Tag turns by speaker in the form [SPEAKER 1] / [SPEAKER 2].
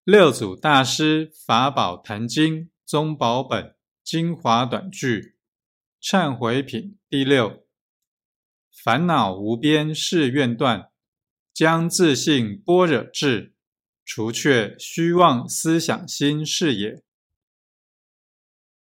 [SPEAKER 1] 六祖大师法宝坛经宗宝本精华短句忏悔品第六。烦恼无边誓愿断，将自性般若智，除却虚妄思想心是也。